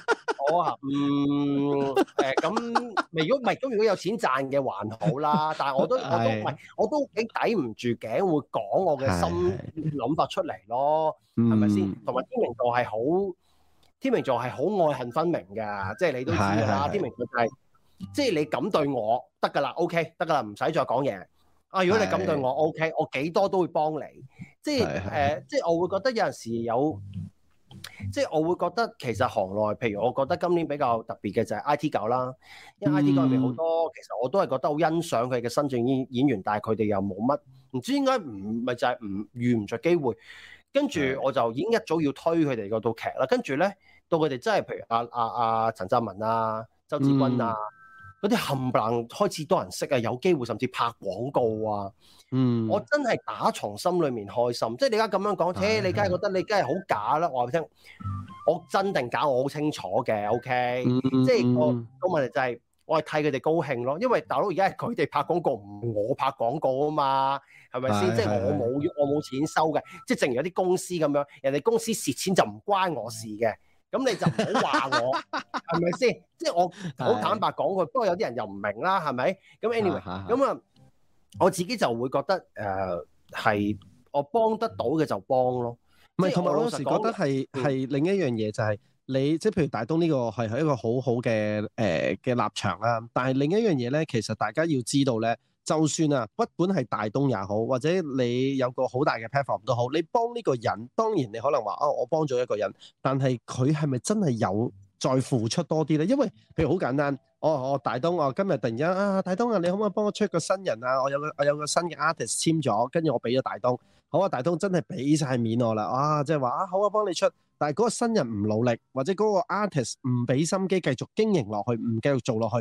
咁如果有錢賺嘅還好啦，但係我都幾抵唔住頸會講我嘅心諗法出嚟咯，係咪先？同埋天秤座係好愛恨分明㗎，即係你都知㗎啦。天秤座就係即係你咁對我得㗎啦 ，OK 得㗎啦，唔使再講嘢。如果你咁對我 OK， 我幾多都會幫你。即係我會覺得有陣時有。即係我會覺得其實行內，譬如我覺得今年比較特別嘅就係 IT 狗啦，因為 IT 狗入面好多，其實我都係覺得好欣賞佢嘅新晉演員，但係佢哋又冇乜，唔知應該咪就係遇唔着機會。跟住我就已經一早要推佢哋嗰套劇啦。跟住咧，到佢哋真係譬如阿陳湛文啊、周志軍啊嗰啲冚唪唥開始多人識啊，有機會甚至拍廣告啊。我真係打從心裏面開心，即係你而家咁樣講，你梗係覺得你梗係好假啦。我話俾你聽，我真定假我好清楚嘅 ，OK，即係個問題就係我係替佢哋高興咯，因為大佬而家係佢哋拍廣告，唔我拍廣告啊嘛，係咪先？即係我冇錢收嘅，即係正如有啲公司咁樣，人哋公司蝕錢就唔關我事嘅，咁你就唔好話我，係咪先？即係我好坦白講句，不過有啲人又唔明啦，係咪？咁 anyway，咁啊。我自己就會覺得係我幫得到嘅就幫咯，唔係同埋我有時覺得係另一樣嘢就係你即係譬如大東呢個係一個好好嘅立場啦，但係另一樣嘢咧，其實大家要知道咧，就算不管係大東也好，或者你有個好大嘅 platform 都好，你幫呢個人，當然你可能話我幫咗一個人，但係佢係咪真係有再付出多啲咧？因為譬如好簡單。大東，我今日突然間大東你可唔可以幫我出個新人啊？我有個新嘅 artist 簽咗，跟住我俾咗大東。好啊，大東真係俾晒面我啦，即係話好啊，幫你出。但係嗰個新人唔努力，或者嗰個 artist 唔俾心機繼續經營落去，唔繼續做落去，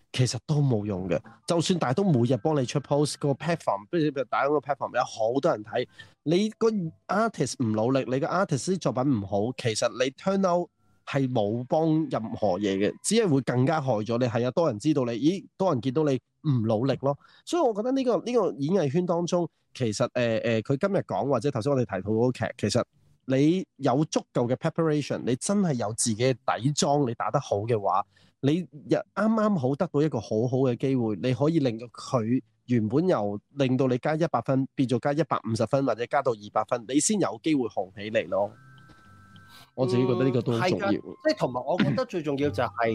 其實都冇用嘅。就算大東每日幫你出 post 個 platform，譬如大東個 platform 有好多人睇，你個 artist 唔努力，你個 artist 啲作品唔好，其實你 turn out 係冇幫任何嘢嘅，只係會更加害咗你。係啊，多人知道你，咦，多人見到你唔努力咯。所以我覺得呢個演藝圈當中，其實佢今日講或者頭先我哋提到嗰個劇，其實你有足夠嘅 preparation， 你真係有自己嘅底裝，你打得好嘅話，你啱啱好得到一個好好嘅機會，你可以令到佢原本由令到你加100分變做加150分，或者加到200分，你先有機會紅起嚟咯。我自己覺得呢個都好重要。即係同埋，我覺得最重要就係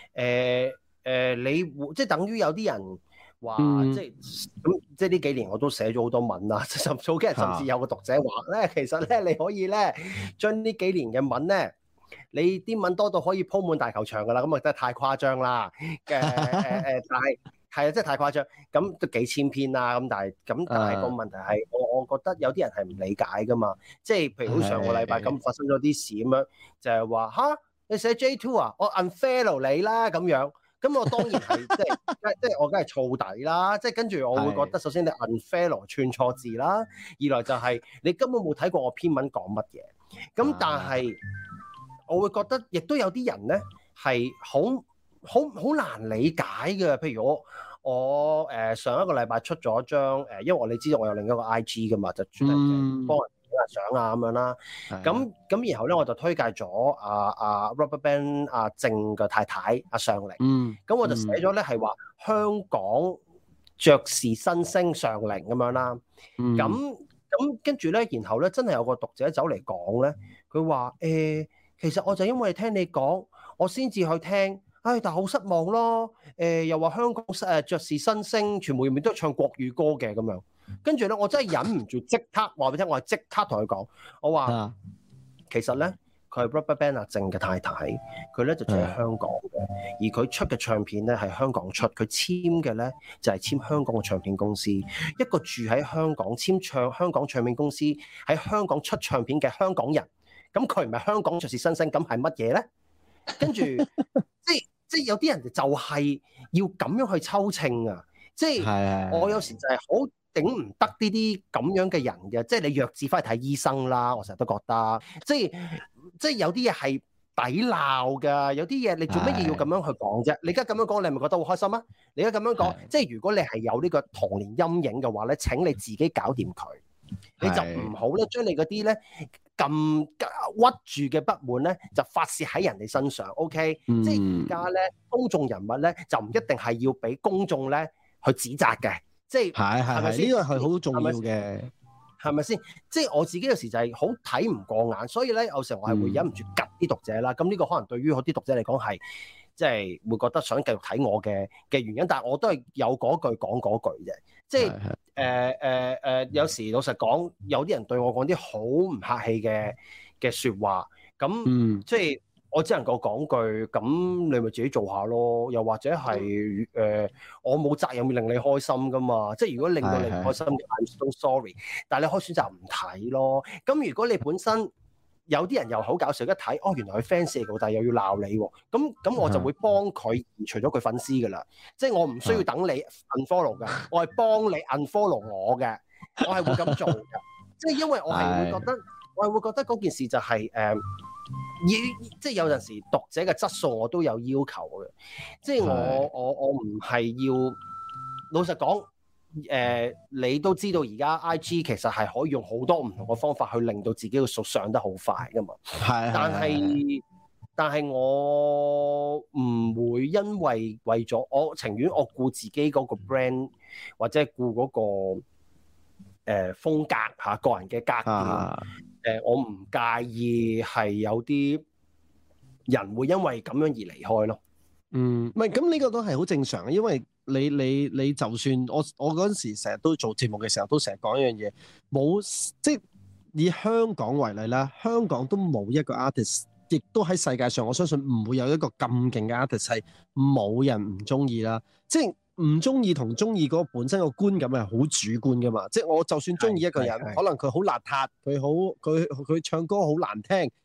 你即係等於有啲人話，即係呢幾年我都寫咗好多文啦。早幾日甚至有個讀者話咧，其實咧你可以咧將呢幾年嘅文咧，你啲文多到可以鋪滿大球場㗎啦。咁啊真係太誇張啦。但係係啊，真係太誇張。咁都幾千篇啦。咁但係個問題係，我覺得有啲人係唔理解㗎嘛。即係譬如好似上個禮拜咁發生咗啲事咁樣，就係話吓你寫 J2 啊，我 unfollow 你啦咁樣。咁我當然係即係我梗係燥底啦。即係跟住我會覺得，首先你 unfollow 串錯字啦，二來就係你根本冇睇過我篇文講乜嘢。咁但係我會覺得，亦都有啲人咧係好難理解嘅。譬如我上一個禮拜出咗張因為你知道我有另一個 IG 噶嘛，就專係幫人影下相啊咁樣啦。咁然後咧我就推介咗阿 RubberBand 阿靜嘅太太阿尚玲。咁我就寫咗咧係話香港爵士新星尚玲咁樣啦。咁跟住咧，然後咧真係有個讀者走嚟講咧，佢話其實我就因為聽你講，我先至去聽。但係好失望咯。又話香港爵士新星全部入面都係唱國語歌嘅咁樣。跟住咧，我真係忍唔住即刻話俾你聽，我係即刻同佢講，我話其實咧佢係 RubberBand 阿靜嘅太太，佢咧就住喺香港嘅，而佢出嘅唱片咧係香港出，佢簽嘅咧就係簽香港嘅唱片公司。一個住喺香港簽香港唱片公司喺香港出唱片嘅香港人，咁佢唔係香港爵士新星，咁係乜嘢咧？跟住即係有啲人就係要咁樣去抽秤啊！即係我有時就係好頂唔得呢啲咁樣嘅人嘅，即係你弱智翻去睇醫生啦！我成日都覺得，即係有啲嘢係抵鬧㗎，有啲嘢你做乜嘢要咁樣去講啫？你而家咁樣講，你係咪覺得好開心啊？你而家咁樣講，即係如果你係有呢個童年陰影嘅話咧，請你自己搞掂佢，你就唔好咧將你嗰啲咧咁屈住嘅不滿咧，就發泄喺人哋身上。OK，即係而家咧，公眾人物咧就唔一定係要俾公眾咧去指責嘅。即係係咪先？呢個係好重要嘅，係咪先？即係我自己有時就係好睇唔過眼，所以咧有時候我係會忍唔住吉啲讀者啦。咁呢個可能對於我啲讀者嚟講係即係會覺得想繼續睇我嘅原因，但係我都係有嗰句講嗰句啫。即係有時老實講，有啲人對我講啲好唔客氣嘅説話，咁即係我只能夠講句，咁你咪自己做下咯。又或者係我冇責任令你開心噶嘛。即係如果令到你唔開心，I'm so sorry。但係你可以選擇唔睇咯。咁如果你本身有啲人又好搞笑，一睇原來佢 fans 嚟嘅，但係又要鬧你喎。咁我就會幫佢移除咗佢粉絲噶啦。即係我唔需要等你 unfollow 嘅，我係幫你 unfollow 我嘅。我係會咁做嘅。即係因為我係會覺得嗰件事就係即係有陣時讀者嘅質素我都有要求嘅。即係我唔係要老實講。你都知道而家 IG 其實係可以用好多唔同嘅方法去令到自己嘅數上得好快噶嘛。但係我唔會因為咗我情願我顧自己嗰個 brand 或者顧嗰個風格嚇個人嘅格調。我唔介意係有啲人會因為咁樣而離開咯。 唔係咁呢個都係好正常嘅，因為你就算我嗰陣時成日都做節目嘅時候，都成日講一樣嘢，冇即係以香港為例啦，香港都冇一個 artist， 亦都喺世界上我相信唔會有一個咁勁嘅 artist 係冇人唔中意啦。即係唔中意同中意嗰個本身個觀感係好主觀噶嘛。即係我就算中意一個人，可能佢好邋遢，佢唱歌好難聽，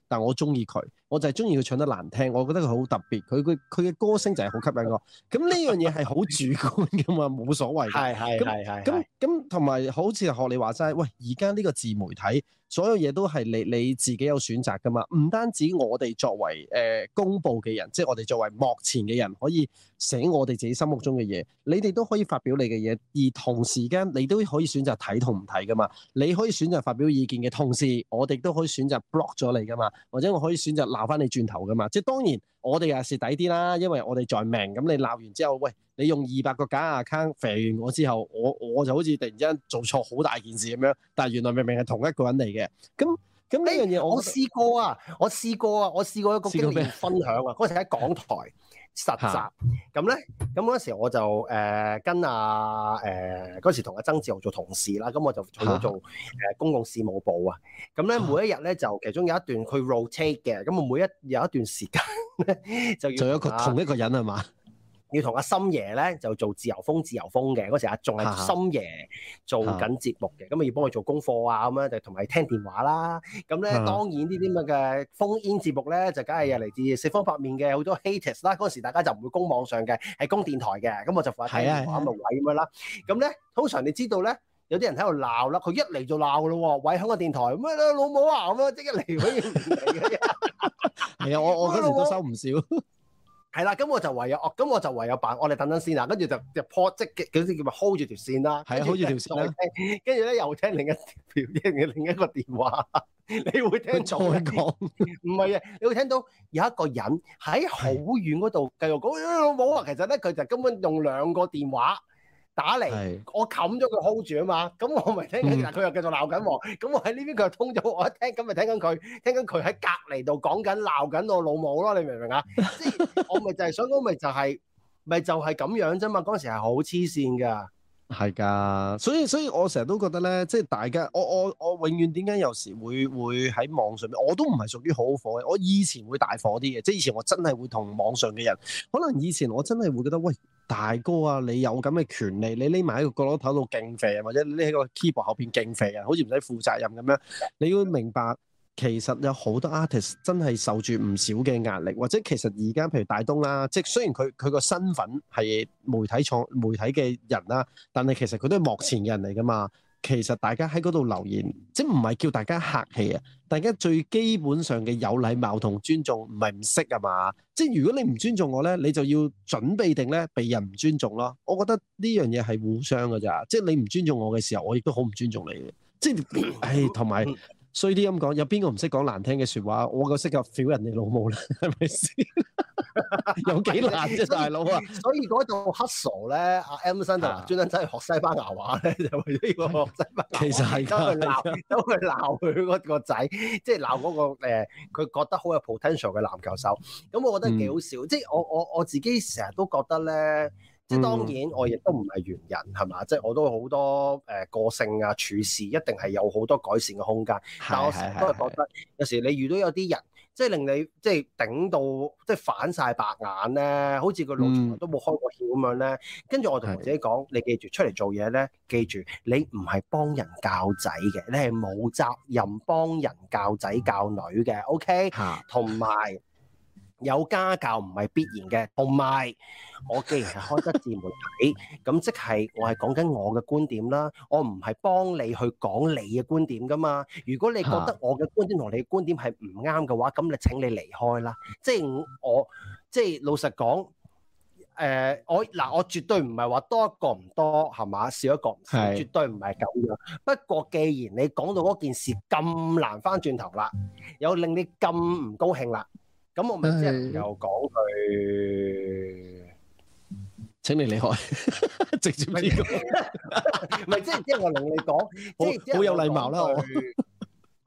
但我中意佢，我就係中意佢唱得難聽，我覺得佢好特別，佢嘅歌聲就係好吸引我。咁呢樣嘢係好主觀噶嘛，冇所謂。係。咁同埋好似學你話齋，喂，而家呢個自媒體。所有嘢都係你自己有選擇噶嘛，唔單止我哋作為公佈嘅人，即係我哋作為幕前嘅人可以寫我哋自己心目中嘅嘢，你哋都可以發表你嘅嘢，而同時間你都可以選擇睇同唔睇噶嘛。你可以選擇發表意見嘅同時，我哋都可以選擇 block 咗你噶嘛，或者我可以選擇鬧翻你轉頭噶嘛。即係當然我哋又蝕底啲啦，因為我哋在命，咁你鬧完之後，喂，你用200個假 account 肥完我之後，我就好似突然之間做錯好大件事咁樣，但係原來明明係同一個人嚟嘅。咁呢樣嘢我試過啊！我試過一個經驗分享啊！嗰時喺港台實習，咁咧，咁嗰時我就跟嗰時同阿曾志豪做同事啦，咁我就去咗做公共事務部啊。咁咧每一日咧就其中有一段佢 rotate 嘅，咁我有一段時間咧就要做同一個人係嘛？ 要同阿森爺咧就做自由風嘅嗰時仲係森爺做緊節目嘅，咁要幫佢做功課啊，咁樣就同埋聽電話啦。咁咧當然呢啲咁嘅phone in節目咧就梗係嚟自四方八面嘅好多 haters 啦。嗰時大家就唔會公網上嘅，係公電台嘅，咁我就負責聽電話咁嘅位咁樣啦。咁咧通常你知道咧有啲人喺度鬧啦，佢一嚟就鬧噶咯喎，喂，香港電台咩啦老母啊咁樣，即一嚟可以唔嚟嘅。 係啊，我嗰時都收唔少。 係啦，咁我就唯有扮，我哋等等先啦，跟住就 port 即係嗰啲叫咪 hold 住條線啦， 係 hold 住條線啦， 跟住咧又聽另一個電話，你會聽到再講，唔係啊，你會聽到有一個人喺好遠嗰度繼續講老母啊，其實咧佢就根本用2個電話打嚟，我冚咗佢 hold 住啊嘛，咁我咪聽緊，佢又繼續鬧緊喎，咁我喺呢邊佢又通咗，我一聽咁咪聽緊佢喺隔離度講緊鬧緊我老母咯，你明唔明啊？即係我咪就係想講，咪就係咁樣啫嘛，嗰陣時係好黐線㗎。 係㗎，所以我成日都覺得咧，即係大家，我永遠點解有時會喺網上面，我都唔係屬於好火嘅。我以前會大火啲嘅，即係以前我真係會同網上嘅人，可能以前我真係會覺得，喂，大哥啊，你有咁嘅權利，你匿埋喺個角落頭度勁肥啊，或者你匿喺個 keyboard 後邊勁肥啊，好似唔使負責任咁樣，你要明白。其實有好多 artist 真係受住唔少嘅壓力，或者其實而家譬如大東啦，即係雖然佢個身份係媒體嘅人啦，但係其實佢都係幕前嘅人嚟㗎嘛。其實大家喺嗰度留言，即係唔係叫大家客氣啊？大家最基本上嘅有禮貌同尊重，唔係唔識啊嘛。即係如果你唔尊重我咧，你就要準備定咧被人唔尊重咯。我覺得呢樣嘢係互相㗎咋，即係你唔尊重我嘅時候，我亦都好唔尊重你嘅。即係同埋。衰啲咁講，有邊個唔識講難聽嘅説話？我個識㗎屌人哋老母啦，係咪先？有幾難啫，大佬啊！ 所以嗰度 hustle 咧，阿 Emerson 就專登走去學西班牙話咧，就為咗呢個學西班牙話。其實係走去鬧佢嗰個仔，即係鬧嗰個佢覺得好有 potential 嘅籃球手。咁我覺得幾好笑，即係我自己成日都覺得咧。即係當然，我亦都唔係完人，係嘛？即係我都好多個性啊、處事一定係有好多改善嘅空間。但我成日都係覺得，有時你遇到有啲人，即係令你即係頂到即係反晒白眼咧，好似個腦從來都冇開過竅咁樣咧。跟住我同自己講，你記住出嚟做嘢咧，記住你唔係幫人教仔嘅，你係冇責任幫人教仔教女嘅。OK，同埋。有家教唔係必然嘅，同埋我既然係開得自媒體，咁即係我係講緊我嘅觀點啦，我唔係幫你去講你嘅觀點噶嘛。如果你覺得我嘅觀點同你嘅觀點係唔啱嘅話，咁你請你離開啦。即係老實講，我絕對唔係話多一個唔多係嘛，少一個唔少，絕對唔係咁樣。不過既然你講到嗰件事咁難翻轉頭啦，又令你咁唔高興啦。咁我咪即係又講佢請你離開，直接呢個， 唔係即係我同你講，即係好有禮貌啦。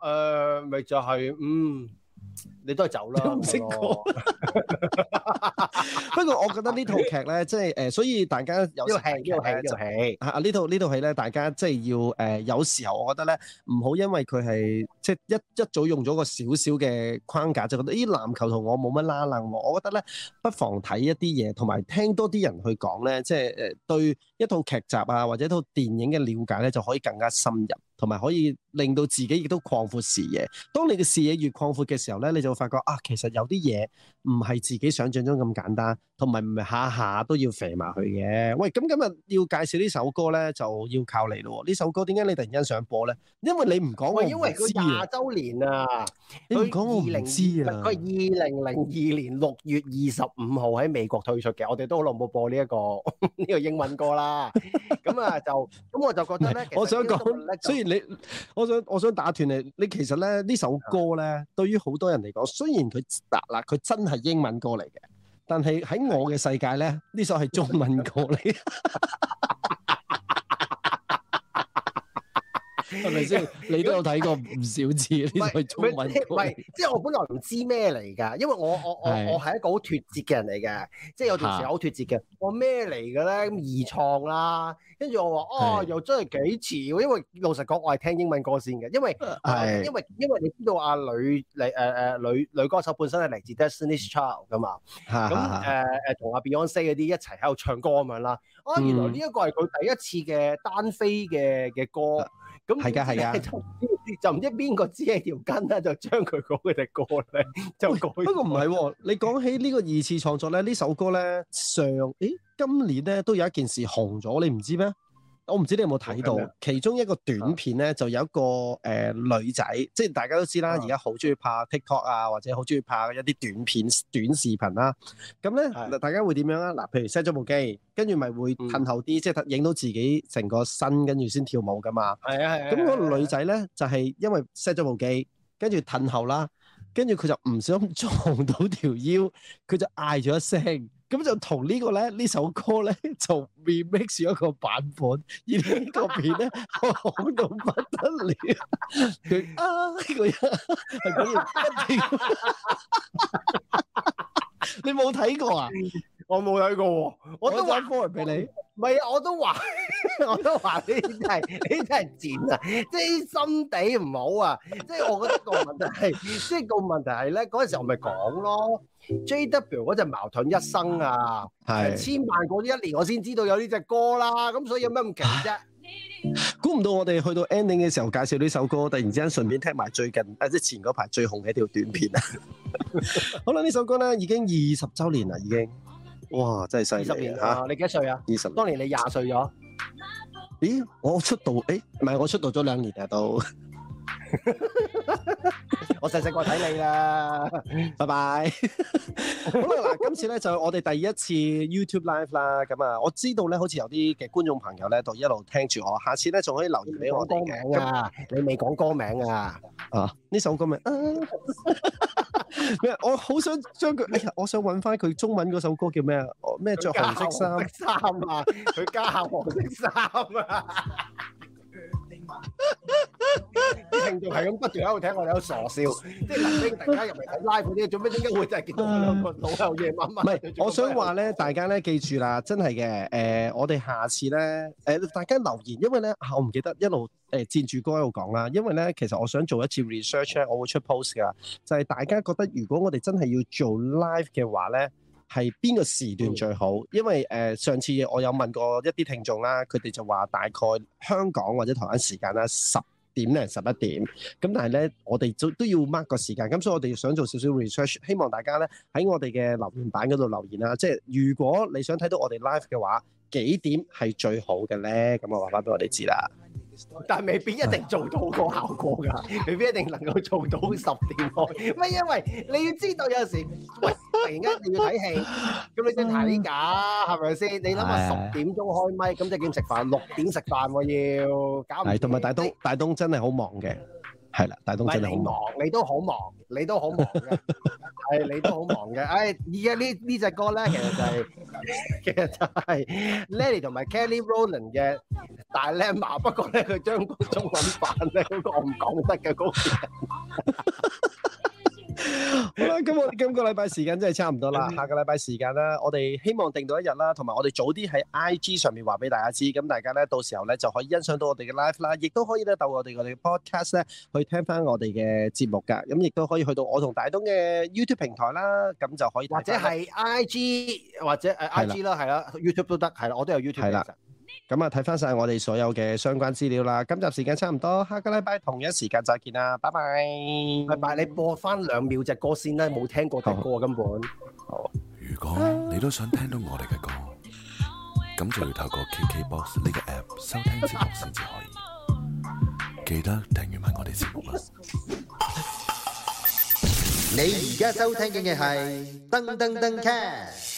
咪就係你都係走啦。 唔識講， 不過我覺得呢套劇咧，即係所以大家有時睇劇咧就呢套戲咧，大家即係要有時候我覺得咧，唔好因為佢係即係一早用咗個少少嘅框架，就覺得咦籃球同我冇乜拉楞喎。我覺得咧，不妨睇一啲嘢，同埋聽多啲人去講咧，即係對一套劇集啊或者一套電影嘅了解咧，就可以更加深入。同埋可以令到自己亦都擴闊視野。當你嘅視野越擴闊嘅時候咧，你就會發覺啊，其實有啲嘢唔係自己想象中咁簡單，同埋唔係下下都要肥埋去嘅。喂，咁今日要介紹呢首歌咧，就要靠你咯。呢首歌點解你突然間想播咧？因為你唔講我唔知啊。因為佢 20週年啊， 你唔講我唔知啊。 佢2002年6月25號喺美國推出嘅，我哋都好耐冇播呢個英文歌啦。咁我就覺得咧， 我想講，雖然我想打斷你，你其實咧呢首歌咧，對於好多人嚟講，雖然佢真係英文歌嚟嘅，但係喺我嘅世界咧，呢首係中文歌嚟。係咪先？你都有睇過唔少次呢首係中文歌。唔係， 即係我本來唔知咩嚟㗎，因為我係一個好脫節嘅人嚟嘅，即係有段時間好脫節嘅。我咩嚟嘅咧？咁二創啦，跟住我話又真係幾似喎。因為老實講，我係聽英文歌先嘅，因為你知道阿女歌手本身係嚟自 Destiny's Child 㗎嘛。咁同阿 Beyonce 嗰啲一齊喺度唱歌咁樣啦。原來呢一個係佢第一次嘅單飛嘅歌。咁係㗎，就唔知邊個知係條筋咧，就將佢嗰隻歌咧就改。不過唔係喎，你講起呢個二次創作咧，呢首歌咧今年咧都有一件事紅咗，你唔知咩？我唔知你有冇睇到，其中一個短片咧就有一個女仔，即係大家都知啦，而家好中意拍 TikTok 啊，或者好中意拍一啲短片、短視頻啦。咁咧，大家會點樣啊？嗱，譬如 set 咗部機，跟住咪會褪後啲，即係影到自己成個身，跟住先跳舞噶嘛。係啊係啊。咁嗰個女仔咧就係因為 set 咗部機，跟住褪後啦，跟住佢就唔小心撞到條腰，佢就嗌咗一聲。咁就同呢首歌咧就 remix 咗一個版本，而呢個片咧紅到不得了，佢呢個人係咁樣，你冇睇過啊？ 我冇睇過喎，我都話 forward 俾你。 唔係啊，我都話呢啲真係賤啊！即係心地唔好啊！即係我覺得個問題係咧，嗰陣時我咪講咯 ，JW 嗰隻矛盾一生啊，係千萬個一年我先知道有呢隻歌啦，咁所以有咩咁奇啫？ 估唔到我哋去到 ending 嘅時候介紹呢首歌，突然之間順便聽埋最近即係前嗰排最紅嘅一條短片啊！好啦，呢首歌咧已經20週年啦，已經。哇！真係犀利 20年啊！你幾多歲啊？20。當年你20歲咗？ 咦？我出道唔係我出道咗2年啊都。 我細個睇你啦， 拜拜。好啦，嗱，今次咧就我哋第一次 YouTube Live 啦，咁啊，我知道咧好似有啲嘅觀眾朋友咧，就一路聽住我，下次咧仲可以留言俾我哋嘅。 歌名啊，你未講歌名啊？ 啊，呢首歌名咩？我好想將佢，哎呀，我想揾翻佢中文嗰首歌叫咩啊？咩着紅色衫啊？佢加下黃色衫啊！啲聽眾係咁不斷喺度聽我哋喺度傻笑，即係臨尾突然間入嚟睇 live 嗰啲，做咩點解會真係見到兩個老友夜晚晚？ 唔係，我想話咧，大家咧記住啦，真係嘅，我哋下次咧，大家留言，因為咧，我唔記得一路佔住歌一路講啦，因為咧，其實我想做一次 research 咧，我會出 post 噶，就係大家覺得如果我哋真係要做 live 嘅話咧，係邊個時段最好？因為上次我有問過一啲聽眾啦，佢哋就話大概香港或者台灣時間啦10點零11點，咁但係咧我哋都要 mark 個時間，咁所以我哋想做少少 research， 希望大家咧喺我哋嘅留言板嗰度留言啦。即係如果你想睇到我哋 live 嘅話，幾點係最好嘅咧？咁我話翻俾我哋知啦。 但係未必一定做到個效果㗎，未必一定能夠做到10點開。咪因為你要知道有時，喂，突然間你要睇戲，咁你先睇㗎，係咪先？你諗下10點鐘開咪，咁即係點食飯？6點食飯喎要搞唔掂。係，同埋大東真係好忙嘅。係啦，大東真係好忙，你都好忙，你都好忙嘅，係你都好忙嘅。而家呢隻歌咧，其實就係 Lady 同埋 Kelly Rowland 嘅大 Dilemma， 不過咧佢將個中文版咧嗰個我唔講得嘅嗰個。 好啦，咁我哋今個禮拜時間真係差唔多啦，下個禮拜時間啦，我哋希望定到一日啦，同埋我哋早啲喺 IG 上面話俾大家知，咁大家咧到時候咧就可以欣賞到我哋嘅 live 啦，亦都可以咧到我哋嘅 podcast 咧去聽翻我哋嘅節目噶，咁亦都可以去到我同大東嘅 YouTube 平台啦，咁就可以或者係 IG 或者IG 啦，係啦 YouTube 都得，係啦，我都有 YouTube 係啦。咁啊，睇翻晒我哋所有嘅相關資料啦。今集時間差唔多，下個禮拜同一時間再見啦，拜拜。 拜拜，你播翻2秒隻歌先啦，冇聽過隻歌根本。 好。 如果你都想聽到我哋嘅歌，咁就要透過 KKBOX 呢個 app 收聽節目先至可以。記得訂閱埋我哋節目啦。 你而家收聽嘅係噔噔噔 cast。